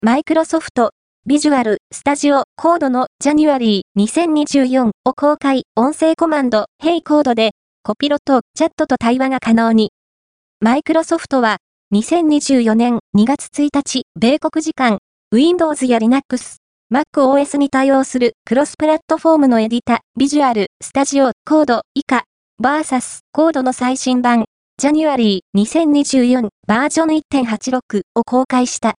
マイクロソフト、ビジュアル、スタジオ、コードの January 2024を公開、音声コマンド、Hey コードで、コピロとチャットと対話が可能に。マイクロソフトは、2024年2月1日、米国時間、Windows や Linux、MacOS に対応するクロスプラットフォームのエディタ、ビジュアル、スタジオ、コード、以下、VS コードの最新版、January 2024バージョン 1.86 を公開した。